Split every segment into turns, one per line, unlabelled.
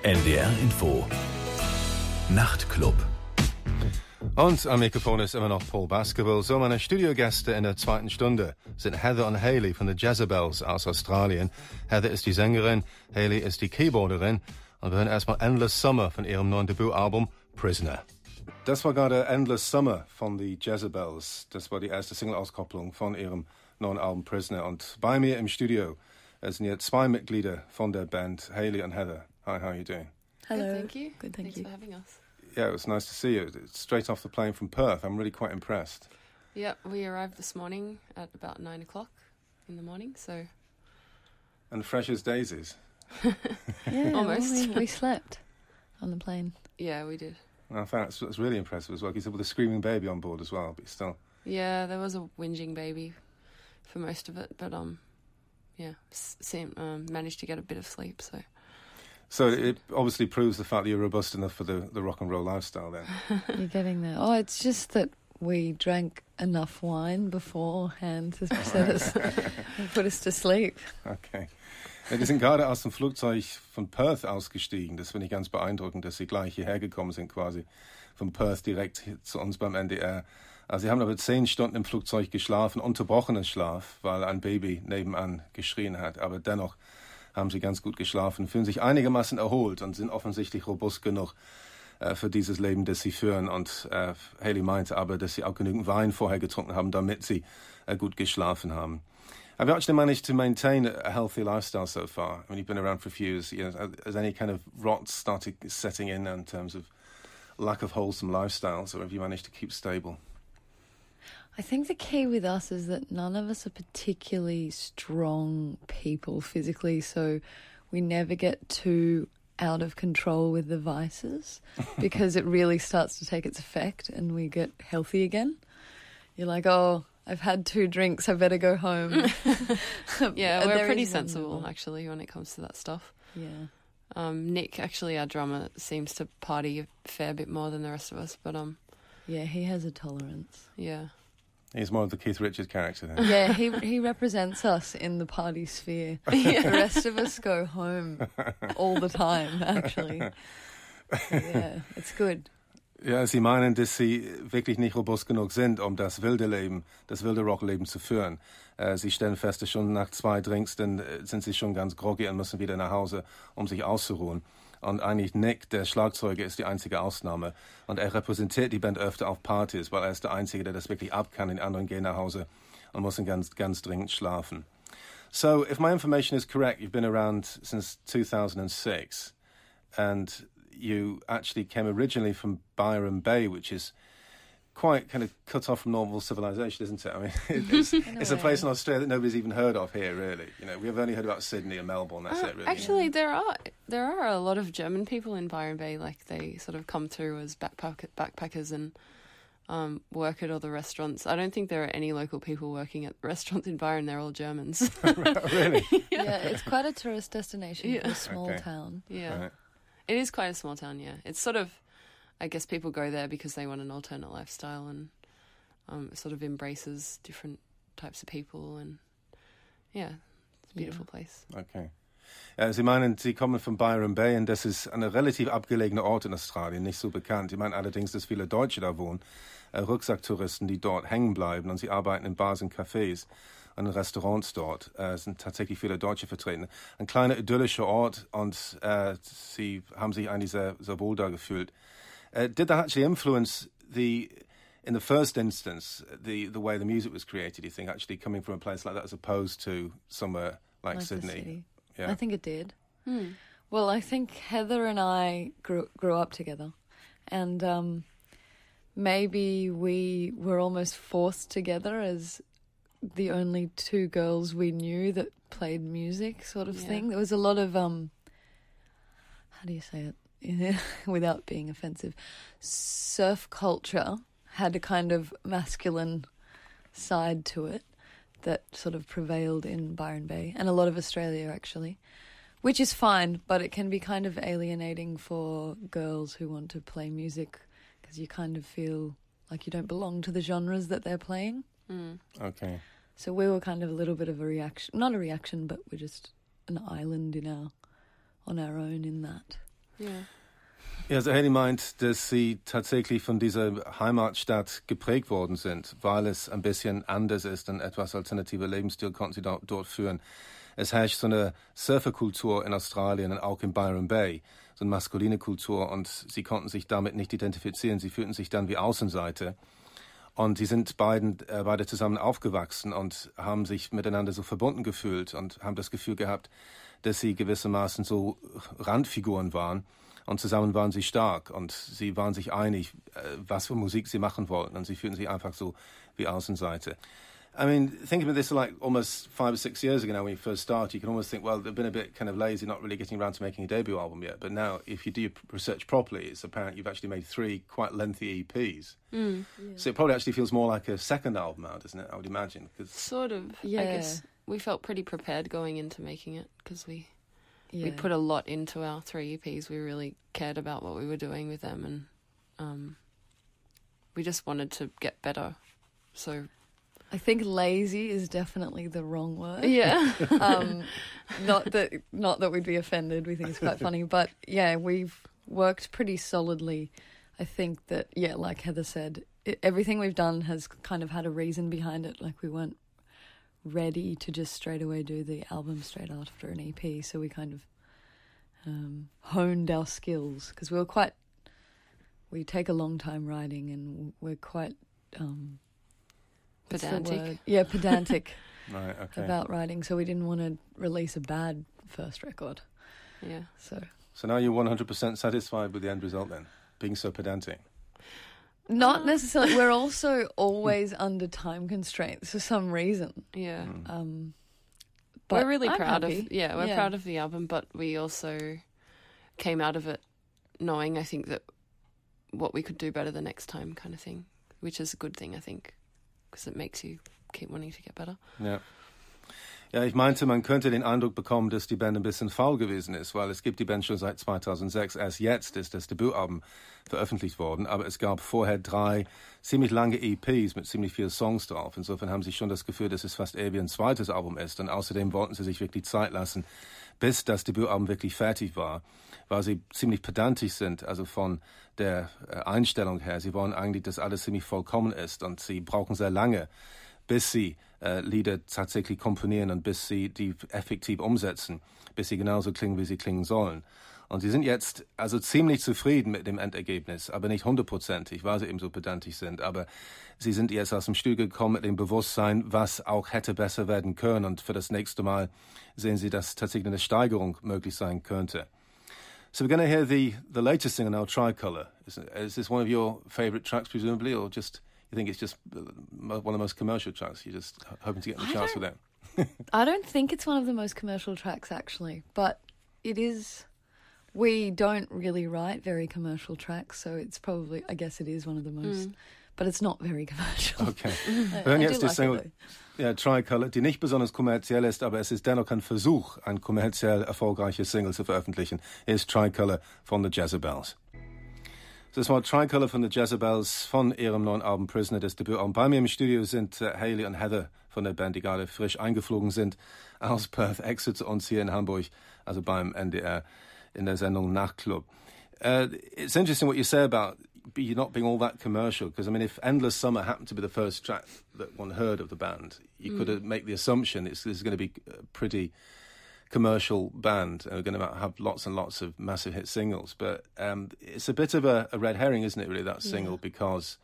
NDR Info Nachtclub.
Und am Mikrofon ist immer noch Paul Baskerville. So, meine Studiogäste in der zweiten Stunde sind Heather und Hayley von The Jezebels aus Australien. Heather ist die Sängerin, Hayley ist die Keyboarderin. Und wir hören erstmal Endless Summer von ihrem neuen Debütalbum Prisoner. Das war gerade Endless Summer von The Jezebels. Das war die erste Single-Auskopplung von ihrem neuen Album Prisoner. Und bei mir im Studio sind jetzt zwei Mitglieder von der Band, Hayley und Heather. Hi, how are you doing?
Hello. Good, thank you.
Good,
Thanks
you.
for having us.
Yeah, it was nice to see you. Straight off the plane from Perth. I'm really quite impressed.
Yeah, we arrived this morning at about 9 o'clock in the morning, so...
And fresh as daisies.
Yeah,
almost.
We slept on the plane.
Yeah, we did.
I found that's really impressive as well. You said with a screaming baby on board as well, but still.
Yeah, there was a whinging baby for most of it, but managed to get a bit of sleep, so...
So it obviously proves the fact that you're robust enough for the rock and roll lifestyle then.
You're getting there. Oh, it's just that we drank enough wine beforehand to put us to sleep.
Okay. Ja, die sind gerade aus dem Flugzeug von Perth ausgestiegen. Das finde ich ganz beeindruckend, dass sie gleich hierher gekommen sind quasi. Von Perth direkt zu uns beim NDR. Also sie haben aber 10 Stunden im Flugzeug geschlafen, unterbrochenen Schlaf, weil ein Baby nebenan geschrien hat. Aber dennoch haben sie ganz gut geschlafen, fühlen sich einigermaßen erholt und sind offensichtlich robust genug für dieses Leben, das sie führen. Und Hayley meinte aber, dass sie auch genügend Wein vorher getrunken haben, damit sie gut geschlafen haben. Have you actually managed to maintain a healthy lifestyle so far? I mean, you've been around for a few years. You know, has any kind of rot started setting in terms of lack of wholesome lifestyles, or have you managed to keep stable?
I think the key with us is that none of us are particularly strong people physically, so we never get too out of control with the vices because it really starts to take its effect and we get healthy again. You're like, oh, I've had 2 drinks, I better go home.
Yeah, we're pretty sensible, actually, when it comes to that stuff.
Yeah.
Nick, actually, our drummer, seems to party a fair bit more than the rest of us, but...
Yeah, he has a tolerance.
Yeah.
He's more of the Keith Richards character then.
Yeah, he represents us in the party sphere. The rest of us go home all the time, actually. Yeah, it's good.
Ja, sie meinen, dass sie wirklich nicht robust genug sind, um das wilde Leben, das wilde Rockleben zu führen. Sie stellen fest, dass schon nach 2 Drinks, dann sind sie schon ganz groggy und müssen wieder nach Hause, um sich auszuruhen. Und eigentlich Nick, der Schlagzeuger, ist die einzige Ausnahme. Und er repräsentiert die Band öfter auf Partys, weil er ist der Einzige, der das wirklich ab kann. Die anderen gehen nach Hause und müssen ganz, ganz dringend schlafen. So, if my information is correct, you've been around since 2006. And you actually came originally from Byron Bay, which is quite kind of cut off from normal civilization, isn't it? I mean, it's a place in Australia that nobody's even heard of here, really. You know, we've only heard about Sydney and Melbourne. That's it, really.
Actually, there are a lot of German people in Byron Bay. Like they sort of come through as backpackers and work at all the restaurants. I don't think there are any local people working at restaurants in Byron. They're all Germans.
Really?
Yeah, it's quite a tourist destination for a small town.
Yeah.
Right.
It is quite a small town, yeah. It's sort of, I guess people go there because they want an alternate lifestyle and it sort of embraces different types of people and, yeah, it's a beautiful place.
Okay. Ja, Sie meinen, Sie kommen von Byron Bay und das ist ein relativ abgelegener Ort in Australien, nicht so bekannt. Ich meine allerdings, dass viele Deutsche da wohnen, Rucksacktouristen, die dort hängen bleiben und sie arbeiten in Bars und Cafés und in Restaurants dort. Es sind tatsächlich viele Deutsche vertreten. Ein kleiner idyllischer Ort und sie haben sich eigentlich sehr, sehr wohl da gefühlt. Did that actually influence in the first instance, the way the music was created, you think, actually coming from a place like that as opposed to somewhere like Sydney? Yeah.
I think it did. Well, I think Heather and I grew up together, and maybe we were almost forced together as the only 2 girls we knew that played music, sort of thing. There was a lot of how do you say it without being offensive? Surf culture had a kind of masculine side to it that sort of prevailed in Byron Bay and a lot of Australia, actually, which is fine, but it can be kind of alienating for girls who want to play music because you kind of feel like you don't belong to the genres that they're playing.
Okay.
So we were kind of a little bit of a reaction, not a reaction, but we're just an island on our own in that.
Yeah.
Ja, also Haley meint, dass sie tatsächlich von dieser Heimatstadt geprägt worden sind, weil es ein bisschen anders ist, ein etwas alternativer Lebensstil konnten sie dort führen. Es herrscht so eine Surferkultur in Australien und auch in Byron Bay, so eine maskuline Kultur, und sie konnten sich damit nicht identifizieren. Sie fühlten sich dann wie Außenseiter. Und die sind beide zusammen aufgewachsen und haben sich miteinander so verbunden gefühlt und haben das Gefühl gehabt, dass sie gewissermaßen so Randfiguren waren. Und zusammen waren sie stark und sie waren sich einig, was für Musik sie machen wollten. Und sie fühlten sich einfach so wie Außenseiter. I mean, thinking of this like almost 5 or 6 years ago now when you first started, you can almost think, well, they've been a bit kind of lazy, not really getting around to making a debut album yet. But now, if you do your research properly, it's apparent you've actually made 3 quite lengthy EPs.
Yeah.
So it probably actually feels more like a second album now, doesn't it? I would imagine.
Sort of.
Yeah.
I guess we felt pretty prepared going into making it because we
Yeah.
put a lot into our 3 EPs. We really cared about what we were doing with them, and we just wanted to get better. So
I think lazy is definitely the wrong word.
yeah.
Not that we'd be offended. We think it's quite funny, but yeah, we've worked pretty solidly. I think that, yeah, like Heather said, everything we've done has kind of had a reason behind it. Like we weren't ready to just straight away do the album straight after an EP, so we kind of honed our skills because we take a long time writing and we're quite what's the
Pedantic.
word? Yeah, pedantic.
Right, okay.
About writing, so we didn't want to release a bad first record.
Yeah.
So now you're 100% satisfied with the end result then, being so pedantic?
Not necessarily. We're also always under time constraints for some reason.
Yeah.
But
we're really
I'm
proud
happy.
we're proud of the album, but we also came out of it knowing, I think, that what we could do better the next time kind of thing, which is a good thing, I think, because it makes you keep wanting to get better.
Ja. Ja, ich meinte, man könnte den Eindruck bekommen, dass die Band ein bisschen faul gewesen ist, weil es gibt die Band schon seit 2006. Erst jetzt ist das Debütalbum veröffentlicht worden, aber es gab vorher 3 ziemlich lange EPs mit ziemlich vielen Songs drauf. Insofern haben sie schon das Gefühl, dass es fast eher wie ein zweites Album ist. Und außerdem wollten sie sich wirklich Zeit lassen, bis das Debütalbum wirklich fertig war, weil sie ziemlich pedantisch sind, also von der Einstellung her. Sie wollen eigentlich, dass alles ziemlich vollkommen ist und sie brauchen sehr lange, bis sie Lieder tatsächlich komponieren und bis sie die effektiv umsetzen, bis sie genauso klingen, wie sie klingen sollen. Und sie sind jetzt also ziemlich zufrieden mit dem Endergebnis, aber nicht 100%, weil sie eben so pedantisch sind. Aber sie sind jetzt aus dem Studio gekommen mit dem Bewusstsein, was auch hätte besser werden können. Und für das nächste Mal sehen sie, dass tatsächlich eine Steigerung möglich sein könnte. So we're going to hear the latest single now, Tricolor. Is this one of your favourite tracks, presumably, or just... You think it's just one of the most commercial tracks? You're just hoping to get the chance with it?
I don't think it's one of the most commercial tracks, actually, but it is. We don't really write very commercial tracks, so it's probably, I guess it is one of the most, but it's not very commercial.
Okay. Wir
I
hören
do
jetzt die
like
Single,
it, though.
ja, Tricolor, die nicht besonders kommerziell ist, aber es ist dennoch ein Versuch, ein kommerziell erfolgreiche Single zu veröffentlichen. Hier ist Tricolor von The Jezebels. Das war Tricolor von The Jezebels von ihrem neuen Album Prisoner, das Debütalbum. Bei mir im Studio sind Haley und Heather von der Band, die gerade frisch eingeflogen sind aus Perth, Exit zu uns hier in Hamburg, also beim NDR in der Sendung Nachtclub. It's interesting what you say about you not being all that commercial, because I mean, if Endless Summer happened to be the first track that one heard of the band, you could make the assumption this is going to be a pretty commercial band. We're going to have lots and lots of massive hit singles, but it's a bit of a red herring, isn't it, really, that single, because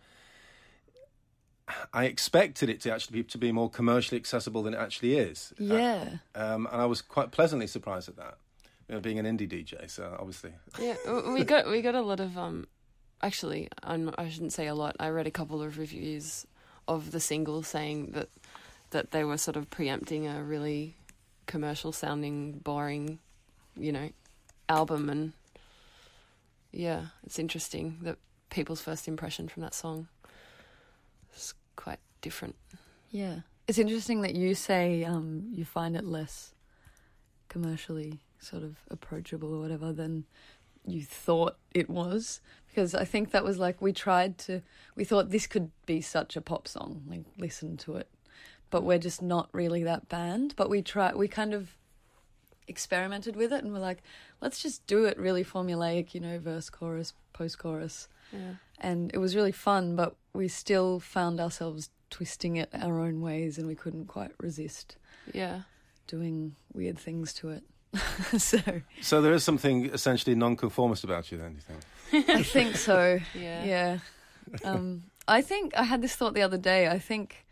I expected it to actually be more commercially accessible than it actually is.
Yeah.
And I was quite pleasantly surprised at that, being an indie DJ, so obviously.
Yeah, we got a lot of actually, I shouldn't say a lot. I read a couple of reviews of the single saying that they were sort of preempting a really commercial sounding, boring, album, and yeah, it's interesting that people's first impression from that song is quite different.
Yeah. It's interesting that you say you find it less commercially sort of approachable or whatever than you thought it was, because I think that was like we thought this could be such a pop song, like listen to it. But we're just not really that band. But experimented with it, and we're like, let's just do it really formulaic, you know, verse, chorus, post-chorus.
Yeah.
And it was really fun, but we still found ourselves twisting it our own ways, and we couldn't quite resist
Yeah.
doing weird things to it.
So there is something essentially non-conformist about you then, do you think?
I think so.
Yeah.
I think I had this thought the other day. I think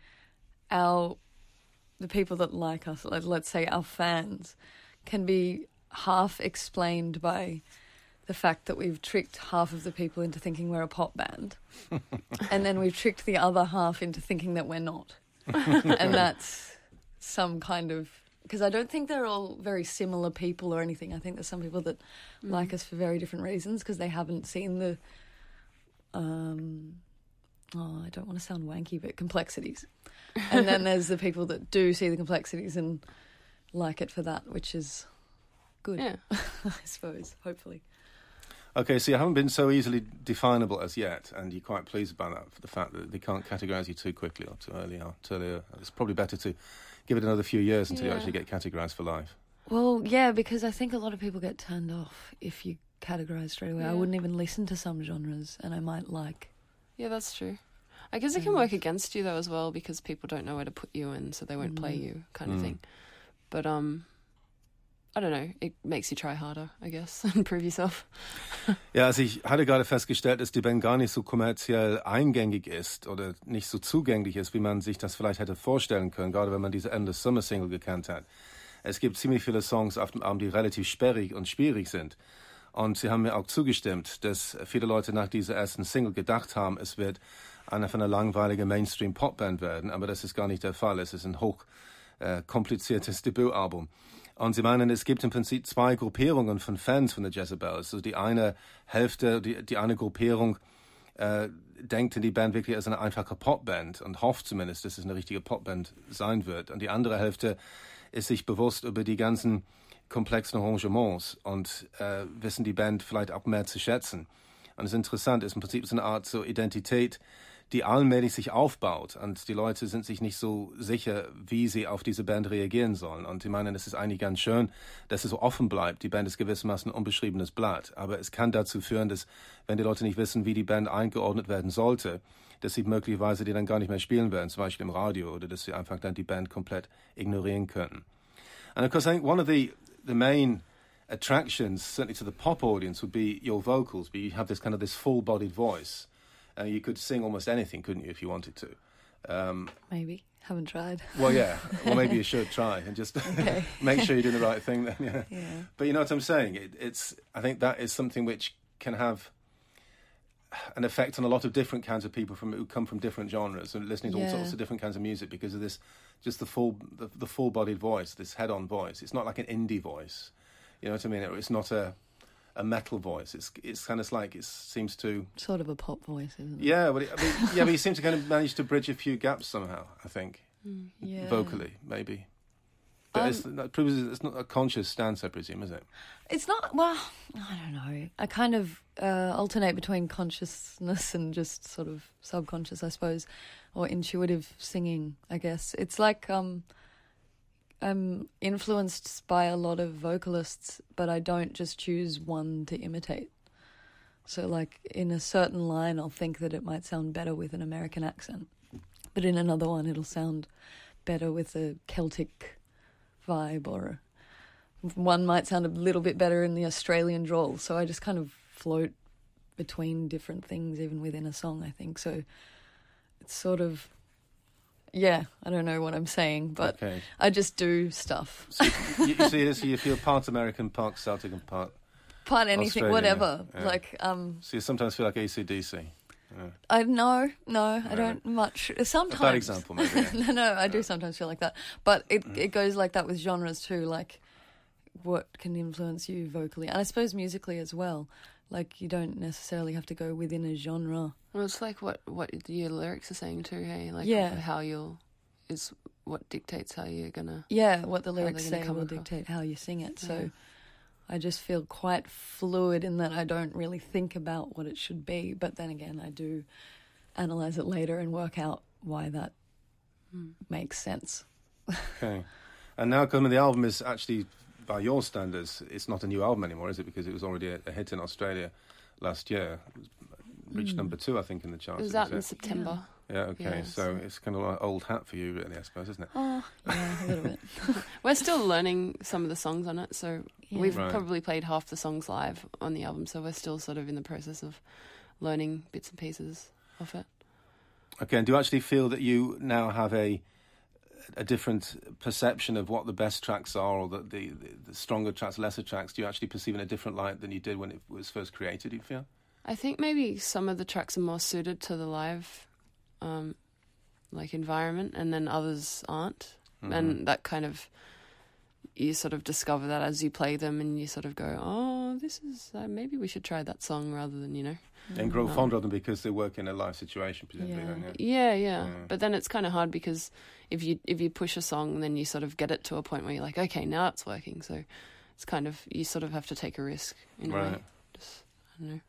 the people that like us, let's say our fans, can be half explained by the fact that we've tricked half of the people into thinking we're a pop band, and then we've tricked the other half into thinking that we're not. And that's some kind of... Because I don't think they're all very similar people or anything. I think there's some people that like us for very different reasons because they haven't seen the... I don't want to sound wanky, but complexities. And then there's the people that do see the complexities and like it for that, which is good,
Yeah.
I suppose, hopefully.
Okay, so you haven't been so easily definable as yet, and you're quite pleased about that, for the fact that they can't categorise you too quickly or too early. It's probably better to give it another few years until you actually get categorised for life.
Well, yeah, because I think a lot of people get turned off if you categorise straight away.
Yeah.
I wouldn't even listen to some genres, and I might like...
Yeah, that's true. I guess it can work against you though as well, because people don't know where to put you in, so they won't play you, kind of thing. But I don't know. It makes you try harder, I guess, and prove yourself.
Ja, also ich hatte gerade festgestellt, dass die Band gar nicht so kommerziell eingängig ist oder nicht so zugänglich ist, wie man sich das vielleicht hätte vorstellen können, gerade wenn man diese Endless Summer Single gekannt hat. Es gibt ziemlich viele Songs auf dem Album, die relativ sperrig und schwierig sind. Und sie haben mir auch zugestimmt, dass viele Leute nach dieser ersten Single gedacht haben, es wird eine von einer langweiligen Mainstream-Pop-Band werden, aber das ist gar nicht der Fall. Es ist ein hoch kompliziertes Debütalbum. Und sie meinen, es gibt im Prinzip zwei Gruppierungen von Fans von The Jezebels. Also die eine Hälfte, die eine Gruppierung denkt in die Band wirklich als eine einfache Popband und hofft zumindest, dass es eine richtige Popband sein wird. Und die andere Hälfte ist sich bewusst über die ganzen komplexen Arrangements und wissen die Band vielleicht auch mehr zu schätzen. Und es ist interessant, es ist im Prinzip so eine Art so Identität, die allmählich sich aufbaut, und die Leute sind sich nicht so sicher, wie sie auf diese Band reagieren sollen. Und ich meine, es ist eigentlich ganz schön, dass es so offen bleibt. Die Band ist gewissermaßen ein unbeschriebenes Blatt. Aber es kann dazu führen, dass, wenn die Leute nicht wissen, wie die Band eingeordnet werden sollte, dass sie möglicherweise die dann gar nicht mehr spielen werden, zum Beispiel im Radio, oder dass sie einfach dann die Band komplett ignorieren können. And of course, I think one of the main attractions, certainly to the pop audience, would be your vocals. But you have this kind of this full-bodied voice. You could sing almost anything, couldn't you, if you wanted to?
Maybe. Haven't tried.
Well, yeah. Well, maybe you should try and just make sure you're doing the right thing then. Yeah. But you know what I'm saying? I think that is something which can have an effect on a lot of different kinds of people who come from different genres and listening to all sorts of different kinds of music because of this, just the full-bodied voice, this head-on voice. It's not like an indie voice. You know what I mean? It's not a metal voice. It's kind of like it seems to...
Sort of a pop voice, isn't it?
Yeah, but you seem to kind of manage to bridge a few gaps somehow, I think. Vocally, maybe. But it's not a conscious stance, I presume, is it?
It's not, well, I don't know. I kind of alternate between consciousness and just sort of subconscious, I suppose, or intuitive singing, I guess. It's like... I'm influenced by a lot of vocalists, but I don't just choose one to imitate. So, like, in a certain line, I'll think that it might sound better with an American accent. But in another one, it'll sound better with a Celtic vibe, or one might sound a little bit better in the Australian drawl. So I just kind of float between different things, even within a song, I think. So it's sort of... Yeah, I don't know what I'm saying, but I just do stuff.
So you feel part American, part Celtic, and part
anything,
Australian,
whatever.
Yeah.
Like,
so you sometimes feel like AC/DC. Yeah.
I don't much. Sometimes.
A bad example, maybe. Yeah.
No, I do sometimes feel like that, but it goes like that with genres too. Like, what can influence you vocally, and I suppose musically as well. Like, you don't necessarily have to go within a genre.
Well, it's like what your lyrics are saying too, hey? Like how is what dictates how you're gonna... Yeah,
what the lyrics say will dictate how you sing it. So I just feel quite fluid in that I don't really think about what it should be. But then again, I do analyse it later and work out why that makes sense.
Okay. And now, the album is actually by your standards, it's not a new album anymore, is it? Because it was already a hit in Australia last year. It reached number 2, I think, in the charts.
It was out in September.
Yeah, okay.
Yeah,
so it's kind of like old hat for you, really, I suppose, isn't it?
Oh, yeah, a little bit.
We're still learning some of the songs on it, so we've
Right.
probably played half the songs live on the album, so we're still sort of in the process of learning bits and pieces of it.
Okay, and do you actually feel that you now have a different perception of what the best tracks are, or the stronger tracks, lesser tracks? Do you actually perceive in a different light than you did when it was first created, do you feel?
I think maybe some of the tracks are more suited to the live environment, and then others aren't.
Mm-hmm.
And that kind of, you sort of discover that as you play them, and you sort of go, oh, this is, maybe we should try that song rather than,
And grow fonder of them because they work in a live situation, presumably, don't you?
Yeah. But then it's kind of hard because if you push a song, then you sort of get it to a point where you're like, okay, now it's working. So it's kind of, you sort of have to take a risk in a way. Just, I don't know.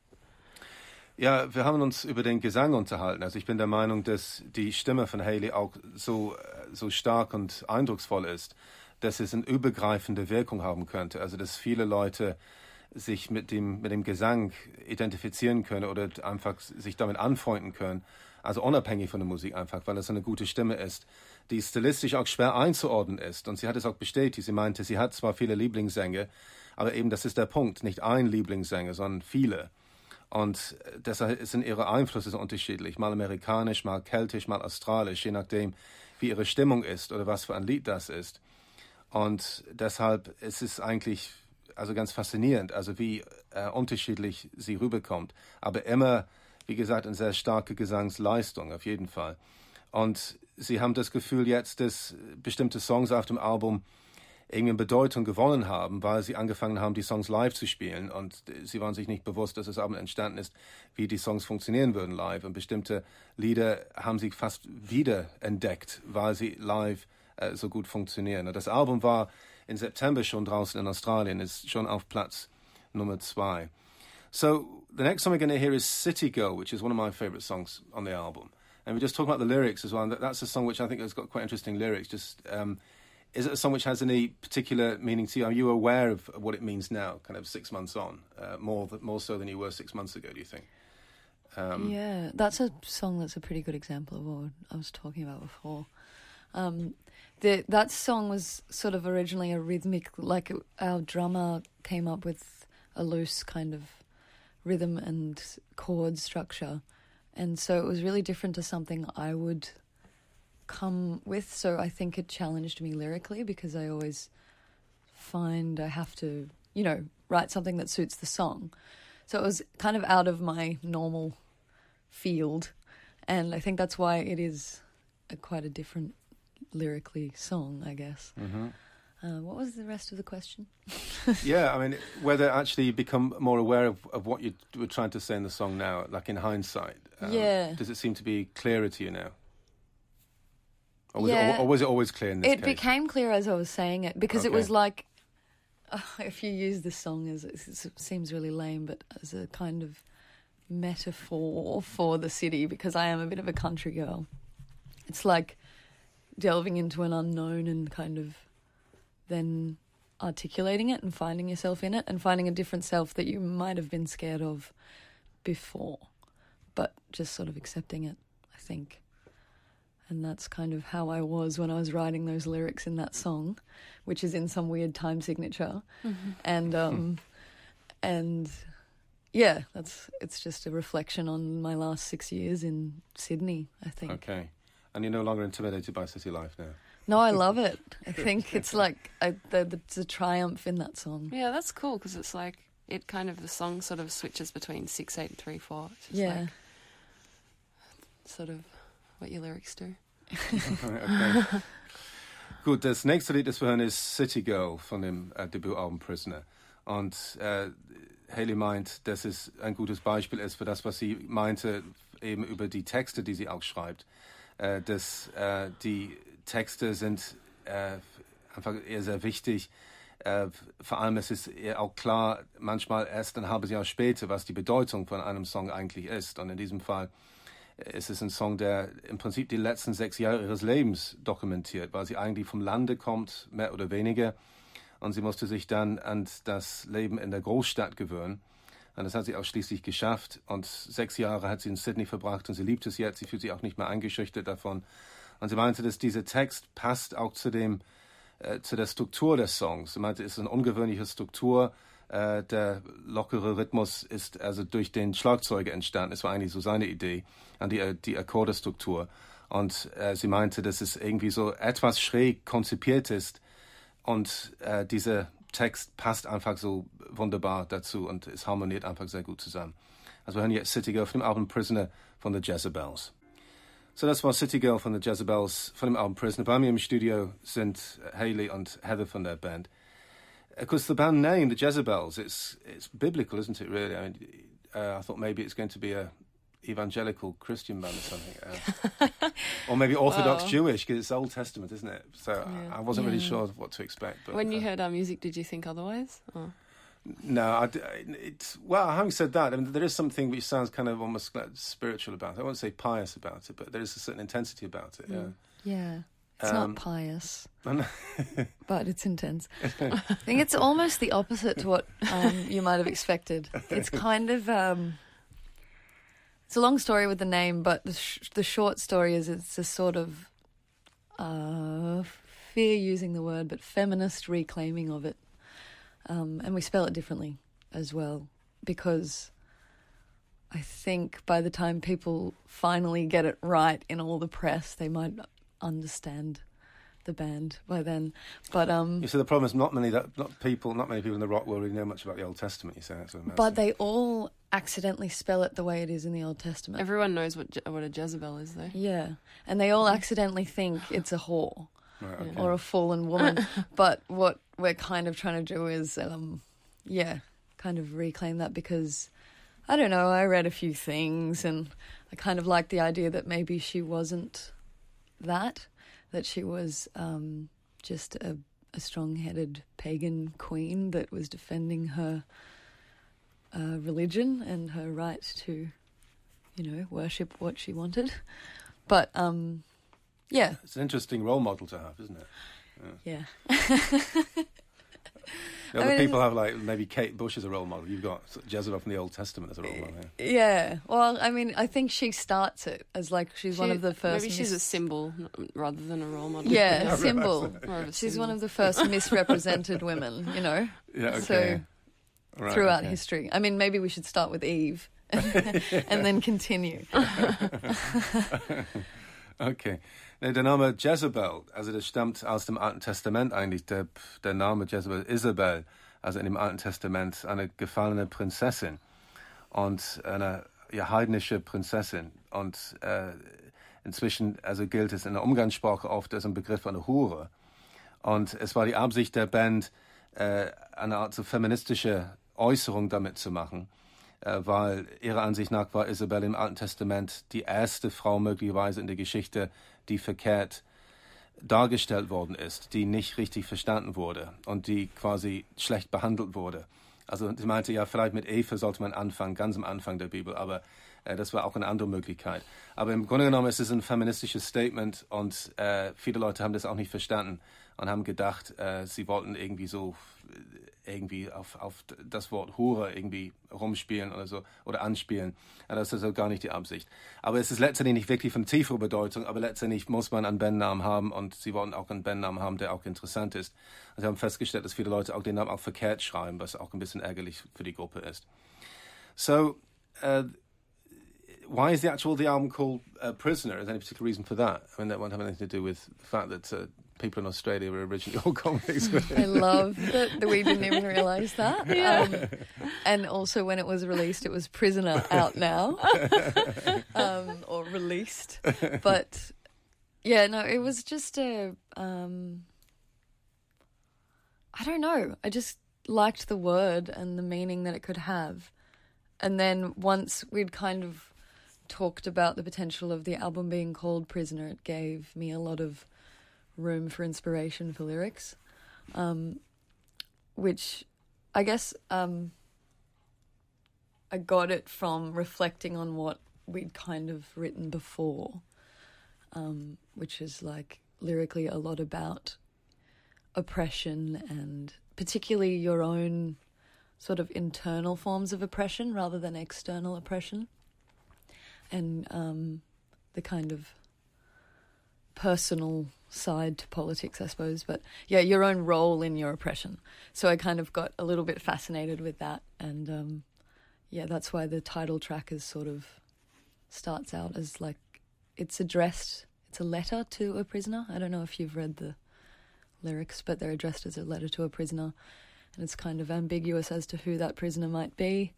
Ja, wir haben uns über den Gesang unterhalten. Also ich bin der Meinung, dass die Stimme von Hayley auch so stark und eindrucksvoll ist, dass es eine übergreifende Wirkung haben könnte. Also dass viele Leute sich mit dem Gesang identifizieren können oder einfach sich damit anfreunden können. Also unabhängig von der Musik einfach, weil es eine gute Stimme ist, die stilistisch auch schwer einzuordnen ist. Und sie hat es auch bestätigt. Sie meinte, sie hat zwar viele Lieblingssänger, aber eben das ist der Punkt. Nicht ein Lieblingssänger, sondern viele. Und deshalb sind ihre Einflüsse so unterschiedlich. Mal amerikanisch, mal keltisch, mal australisch, je nachdem, wie ihre Stimmung ist oder was für ein Lied das ist. Und deshalb ist es eigentlich also ganz faszinierend, also wie unterschiedlich sie rüberkommt. Aber immer, wie gesagt, eine sehr starke Gesangsleistung, auf jeden Fall. Und sie haben das Gefühl jetzt, dass bestimmte Songs auf dem Album irgendwie Bedeutung gewonnen haben, weil sie angefangen haben, die Songs live zu spielen. Und sie waren sich nicht bewusst, dass das Album entstanden ist, wie die Songs funktionieren würden live. Und bestimmte Lieder haben sie fast wieder entdeckt, weil sie live so gut funktionieren. Und das Album war im September schon draußen in Australien, ist schon auf Platz Nummer 2. So, the next song we're going to hear is City Girl, which is one of my favourite songs on the album. And we just talk about the lyrics as well. And that's a song which I think has got quite interesting lyrics. Just is it a song which has any particular meaning to you? Are you aware of what it means now, kind of 6 months on, more so than you were 6 months ago, do you think?
Yeah, that's a song that's a pretty good example of what I was talking about before. That song was sort of originally a rhythmic, like our drummer came up with a loose kind of rhythm and chord structure. And so it was really different to something I would come with. So I think it challenged me lyrically because I always find I have to, write something that suits the song. So it was kind of out of my normal field. And I think that's why it is quite a different lyrically song, I guess.
Mm-hmm.
What was the rest of the question?
Yeah, I mean, whether actually you become more aware of what you were trying to say in the song now, like in hindsight.
Yeah.
Does it seem to be clearer to you now? Or was it always clear in this case?
It became clear as I was saying it because it was like, if you use this song as, it seems really lame, but as a kind of metaphor for the city, because I am a bit of a country girl. It's like delving into an unknown and kind of then articulating it and finding yourself in it and finding a different self that you might have been scared of before, but just sort of accepting it, I think. And that's kind of how I was when I was writing those lyrics in that song, which is in some weird time signature. Mm-hmm. And yeah, it's just a reflection on my last 6 years in Sydney, I think.
Okay. And you're no longer intimidated by city life now?
No, I love it. I think it's like there's a triumph in that song.
Yeah, that's cool because it's like the song sort of switches between 6, 8 and 3, 4. It's just like sort of what your lyrics do.
Okay. Gut, das nächste Lied, das wir hören, ist City Girl von dem Debütalbum Prisoner. Und Hayley meint, dass es ein gutes Beispiel ist für das, was sie meinte, eben über die Texte, die sie auch schreibt. Dass die Texte sind einfach eher sehr wichtig. Vor allem ist es ihr auch klar, manchmal erst ein halbes Jahr später, was die Bedeutung von einem Song eigentlich ist. Und in diesem Fall ist es ein Song, der im Prinzip die letzten 6 Jahre ihres Lebens dokumentiert, weil sie eigentlich vom Lande kommt, mehr oder weniger, und sie musste sich dann an das Leben in der Großstadt gewöhnen. Und das hat sie auch schließlich geschafft. Und 6 Jahre hat sie in Sydney verbracht und sie liebt es jetzt. Sie fühlt sich auch nicht mehr eingeschüchtert davon. Und sie meinte, dass dieser Text passt auch zu der Struktur des Songs. Sie meinte, es ist eine ungewöhnliche Struktur. Der lockere Rhythmus ist also durch den Schlagzeuger entstanden. Es war eigentlich so seine Idee an die Akkordestruktur. Und sie meinte, dass es irgendwie so etwas schräg konzipiert ist. Und dieser Text passt einfach so wunderbar dazu und es harmoniert einfach sehr gut zusammen. Also wir hören jetzt City Girl von dem Album Prisoner von The Jezebels. So, das war City Girl von The Jezebels von dem Album Prisoner. Bei mir im Studio sind Hayley und Heather von der Band. Of course, the band name, The Jezebels, it's biblical, isn't it, really? I mean, I thought maybe it's going to be a evangelical Christian band or something. Or maybe Orthodox Jewish, because it's Old Testament, isn't it? So I wasn't really sure what to expect. But,
when you heard our music, did you think otherwise? Or?
No, well, having said that, I mean, there is something which sounds kind of almost like spiritual about it. I won't say pious about it, but there is a certain intensity about it, yeah.
Yeah. It's not pious, but it's intense. I think it's almost the opposite to what you might have expected. It's kind of... it's a long story with the name, but the short story is it's a sort of, fear using the word, but feminist reclaiming of it. And we spell it differently as well, because I think by the time people finally get it right in all the press, they might understand the band by then. But
you see, the problem is not many people in the rock world really know much about the Old Testament. You say that's what
but they all accidentally spell it the way it is in the Old Testament.
Everyone knows what a Jezebel is, though.
Yeah, and they all accidentally think it's a whore.
Right, okay.
Or a fallen woman. But what we're kind of trying to do is, kind of reclaim that, because, I don't know, I read a few things and I kind of like the idea that maybe she wasn't that she was just a strong-headed pagan queen that was defending her religion and her right to, worship what she wanted. But, yeah.
It's an interesting role model to have, isn't it?
Yeah.
Other people have, like, maybe Kate Bush as a role model. You've got Jezebel from the Old Testament as a role model.
Yeah. Well, I mean, I think she starts it as, like, she's one of the first...
Maybe she's a symbol rather than a role model.
Yeah, a symbol. She's one of the first misrepresented women,
Yeah, okay.
So, throughout history. I mean, maybe we should start with Eve and then continue.
Okay. Der Name Jezebel, also das stammt aus dem Alten Testament eigentlich. Der Name Jezebel, Isabel, also in dem Alten Testament eine gefallene Prinzessin und eine heidnische Prinzessin. Und inzwischen also gilt es in der Umgangssprache oft als ein Begriff einer Hure. Und es war die Absicht der Band, eine Art so feministische Äußerung damit zu machen. Weil ihrer Ansicht nach war Isabel im Alten Testament die erste Frau möglicherweise in der Geschichte, die verkehrt dargestellt worden ist, die nicht richtig verstanden wurde und die quasi schlecht behandelt wurde. Also sie meinte, ja, vielleicht mit Eva sollte man anfangen, ganz am Anfang der Bibel, aber das war auch eine andere Möglichkeit. Aber im Grunde genommen ist es ein feministisches Statement und viele Leute haben das auch nicht verstanden und haben gedacht, sie wollten irgendwie auf das Wort Hure irgendwie rumspielen oder so oder anspielen. Das ist also gar nicht die Absicht. Aber es ist letztendlich nicht wirklich von tieferer Bedeutung, aber letztendlich muss man einen Bandnamen haben und sie wollten auch einen Bandnamen haben, der auch interessant ist. Und sie haben festgestellt, dass viele Leute auch den Namen auch verkehrt schreiben, was auch ein bisschen ärgerlich für die Gruppe ist. So, why is the album called Prisoner? Is there any particular reason for that? I mean, that won't have anything to do with the fact that people in Australia were originally all convicts.
I love that we didn't even realise that. Yeah. And also when it was released, it was Prisoner out now. Or released. But, yeah, no, it was just I don't know. I just liked the word and the meaning that it could have. And then once we'd kind of talked about the potential of the album being called Prisoner, it gave me a lot of room for inspiration for lyrics, which I guess I got it from reflecting on what we'd kind of written before, which is like lyrically a lot about oppression and particularly your own sort of internal forms of oppression rather than external oppression, and the kind of personal side to politics, I suppose. But yeah, your own role in your oppression. So I kind of got a little bit fascinated with that, and yeah, that's why the title track is sort of starts out as like it's a letter to a prisoner. I don't know if you've read the lyrics, but they're addressed as a letter to a prisoner, and it's kind of ambiguous as to who that prisoner might be.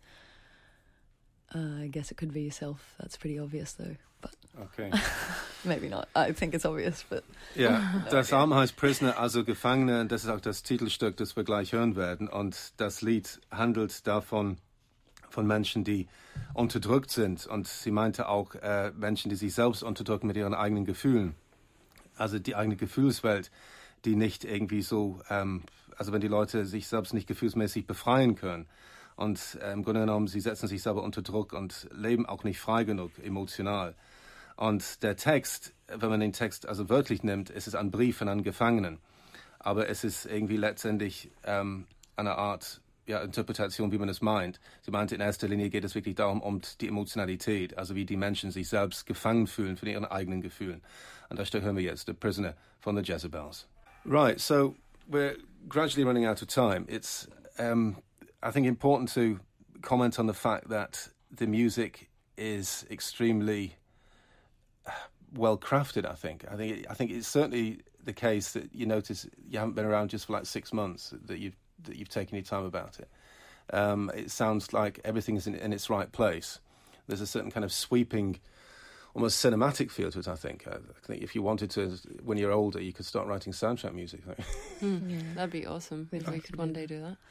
I guess it could be yourself. That's pretty obvious, though. But
Okay.
maybe not. I think it's obvious, but
Ja, das Album heißt Prisoner, also Gefangene. Das ist auch das Titelstück, das wir gleich hören werden. Und das Lied handelt davon, von Menschen, die unterdrückt sind. Und sie meinte auch Menschen, die sich selbst unterdrücken mit ihren eigenen Gefühlen. Also die eigene Gefühlswelt, die nicht irgendwie so, also wenn die Leute sich selbst nicht gefühlsmäßig befreien können. Und im Grunde genommen, sie setzen sich selber unter Druck und leben auch nicht frei genug emotional. Und der Text, wenn man den Text also wörtlich nimmt, ist es ein Brief von einem Gefangenen. Aber es ist irgendwie letztendlich eine Art Interpretation, wie man es meint. Sie meinte, in erster Linie geht es wirklich darum, um die Emotionalität, also wie die Menschen sich selbst gefangen fühlen von ihren eigenen Gefühlen. Und das hören wir jetzt, The Prisoner von the Jezebels. Right, so we're gradually running out of time. It's, I think, important to comment on the fact that the music is extremely well crafted. I think it's certainly the case that you notice you haven't been around just for like 6 months, that you've taken your time about it. It sounds like everything is in its right place. There's a certain kind of sweeping, almost cinematic feel to it, I think. I think if you wanted to, when you're older, you could start writing soundtrack music.
Yeah, that'd be awesome if we could one day do that.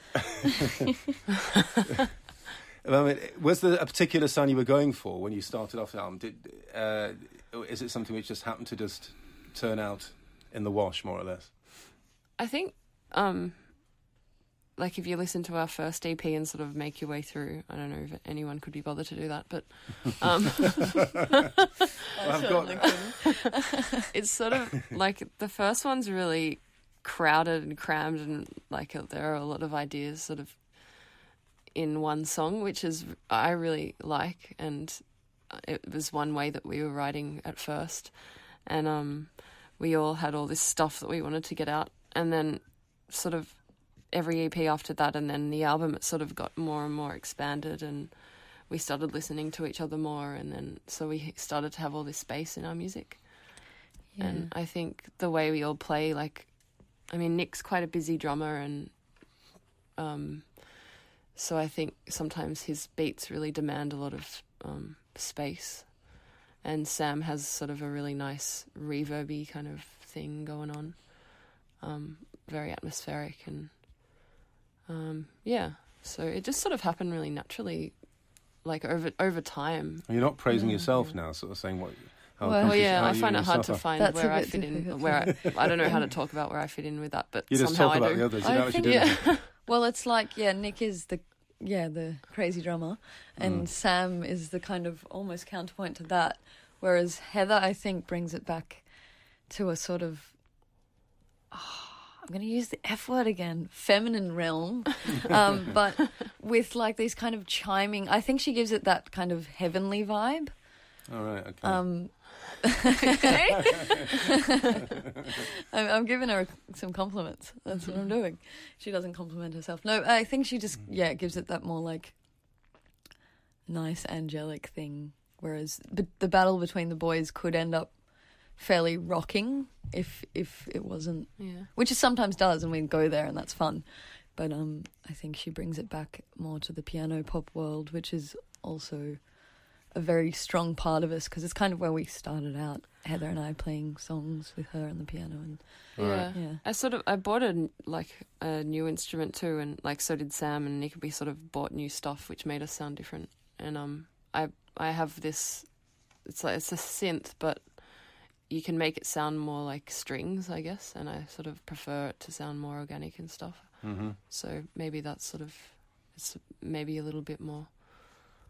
I mean, was there a particular sound you were going for when you started off the album? Is it something which just happened to just turn out in the wash, more or less?
I think, like if you listen to our first EP and sort of make your way through, I don't know if anyone could be bothered to do that, but it's sort of like the first one's really crowded and crammed, and like there are a lot of ideas sort of in one song, which is I really like, and it was one way that we were writing at first, and we all had all this stuff that we wanted to get out, and then sort of every EP after that, and then the album, it sort of got more and more expanded, and we started listening to each other more, and then so we started to have all this space in our music. Yeah. And I think the way we all play, like, I mean, Nick's quite a busy drummer, and so I think sometimes his beats really demand a lot of space, and Sam has sort of a really nice reverby kind of thing going on, very atmospheric, and yeah, so it just sort of happened really naturally, like over time.
You're not praising yourself now, sort of saying what.
Well, yeah, I find it hard to find where I fit in. Where I don't know how to talk about where I fit in with that, but
you just
somehow
talk about
I do.
the others. You know what you do.
Yeah.
Well, it's like Nick is the crazy drummer, and Sam is the kind of almost counterpoint to that. Whereas Heather, I think, brings it back to a sort of, I'm going to use the F word again, feminine realm, but with like these kind of chiming. I think she gives it that kind of heavenly vibe.
All right. Okay.
I'm giving her some compliments. That's what I'm doing. She doesn't compliment herself. No, I think she just gives it that more like nice angelic thing. Whereas the battle between the boys could end up fairly rocking if it wasn't, which it sometimes does, and we go there and that's fun. But I think she brings it back more to the piano pop world, which is also a very strong part of us, because it's kind of where we started out, Heather and I playing songs with her on the piano. And
I bought a new instrument too, and like so did Sam and Nick. We sort of bought new stuff which made us sound different. And I have this, it's a synth, but you can make it sound more like strings, I guess, and I sort of prefer it to sound more organic and stuff. Mm-hmm. So maybe that's sort of, it's maybe a little bit more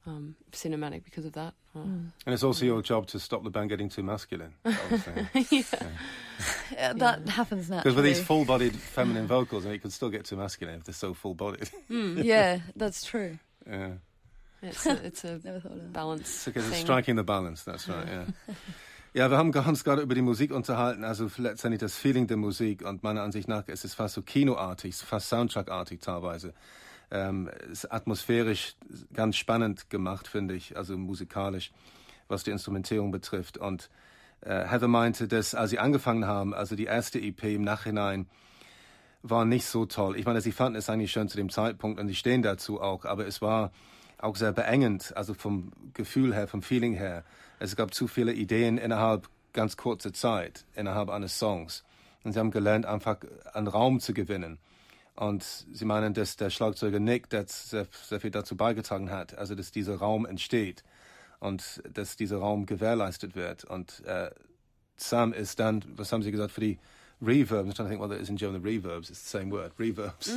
cinematic because of that.
And it's also your job to stop the band getting too masculine, obviously.
Yeah, that happens naturally.
Because with these full-bodied feminine vocals, it can still get too masculine if they're so full-bodied.
Yeah, that's true.
Yeah.
It's a
Never thought of that.
balance
It's
thing.
striking the balance, that's right, ja. Ja, wir haben uns gerade über die Musik unterhalten, also letztendlich das Feeling der Musik, und meiner Ansicht nach ist es fast so kinoartig, fast Soundtrack-artig teilweise. Ist atmosphärisch ganz spannend gemacht, finde ich, also musikalisch, was die Instrumentierung betrifft. Und Heather meinte, dass als sie angefangen haben, also die erste EP im Nachhinein, war nicht so toll. Ich meine, sie fanden es eigentlich schön zu dem Zeitpunkt und sie stehen dazu auch, aber es war auch sehr beengend, also vom Gefühl her, vom Feeling her. Es gab zu viele Ideen innerhalb ganz kurzer Zeit, innerhalb eines Songs. Und sie haben gelernt, einfach an Raum zu gewinnen. Und sie meinen, dass der Schlagzeuger Nick das sehr, sehr viel dazu beigetragen hat, also dass dieser Raum entsteht und dass dieser Raum gewährleistet wird. Und Sam ist dann, was haben sie gesagt, für die Reverbs, I'm trying to think what that is in German, the reverbs, it's the same word, reverbs.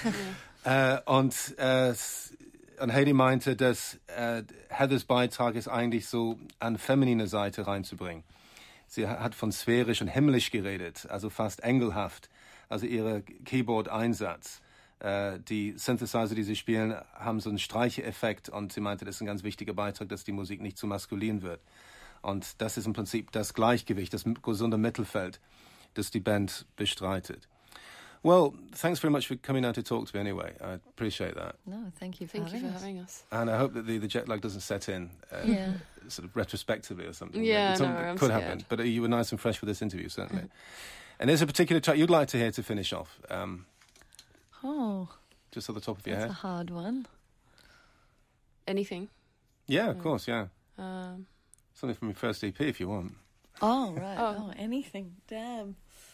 Und Hayley meinte, dass Heathers Beitrag ist eigentlich so an feminine Seite reinzubringen. Sie hat von sphärisch und himmlisch geredet, also fast engelhaft. Also ihr Keyboard-Einsatz. Die Synthesizer, die sie spielen, haben so einen Streicheffekt und sie meinte, das ist ein ganz wichtiger Beitrag, dass die Musik nicht zu maskulin wird. Und das ist im Prinzip das Gleichgewicht, das gesunde Mittelfeld, das die Band bestreitet. Well, thanks very much for coming out to talk to me anyway. I appreciate that.
No, thank you for
Thank you for
having
having
us.
us.
And I hope that the jet lag doesn't set in sort of retrospectively or something.
Yeah,
It
no, I'm
could
scared.
happen. But you were nice and fresh for this interview, certainly. And there's a particular track you'd like to hear to finish off,
Oh,
just at the top of your
that's
head.
a hard one.
Anything?
Yeah, of course, yeah.
Um,
Something from your first EP if you want.
Oh, right.
Oh.
Oh, anything. Damn.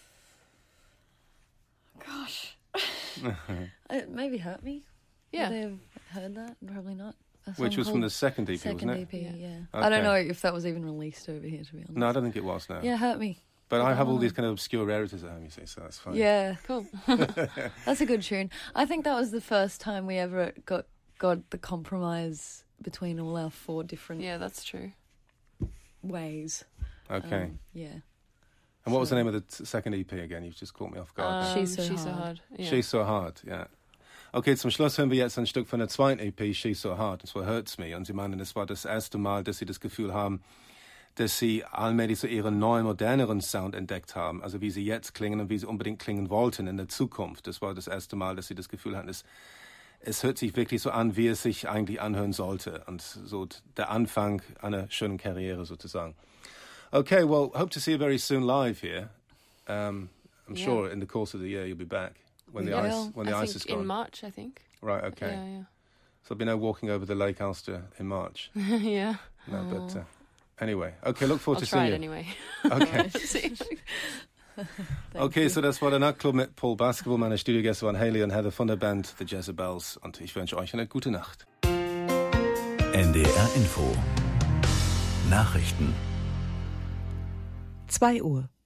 Gosh. It maybe Hurt Me.
yeah.
Would they have heard that? Probably not. A
Which
song
was from the
called
second EP,
second
wasn't it?
EP,
Yeah.
yeah.
Okay.
I don't know if that was even released over here, to be honest.
No, I don't think it was, no.
Yeah, Hurt Me.
But I have all
Oh.
these kind of obscure rarities at home, you see, so that's fine.
Yeah,
Cool.
that's a good tune. I think that was the first time we ever got the compromise between all our four different
Yeah, that's true.
ways.
Okay.
Yeah.
And what was the
so-
name of the second EP again? You've just caught me off guard. there.
She's So Hard.
Yeah.
She's So Hard, ja. Okay, zum Schluss hören wir jetzt ein Stück von der zweiten EP, She's So Hard, und zwar Hurts Me. Und sie meinen, das war das erste Mal, dass sie das Gefühl haben, dass sie allmählich so ihren neuen, moderneren Sound entdeckt haben. Also wie sie jetzt klingen und wie sie unbedingt klingen wollten in der Zukunft. Das war das erste Mal, dass sie das Gefühl hatten, es hört sich wirklich so an, wie es sich eigentlich anhören sollte. Und so der Anfang einer schönen Karriere sozusagen. Okay, well, hope to see you very soon live here. I'm
Yeah.
sure in the course of the year you'll be back when the
Yeah.
ice when the
I
ice
think
is gone.
in March, I think.
Right, okay.
Yeah,
So there'll be no walking over the Lake Ulster in March.
yeah. yeah.
No, but anyway, okay. Look forward
I'll
to
try
seeing
it
you.
anyway.
Okay.
See.
Okay, so das war der Nachtclub mit Paul Basketball. Meine Studiogäste waren Hayley und Heather von der Band The Jezebels. Und ich wünsche euch eine gute Nacht.
NDR Info Nachrichten
2 Uhr.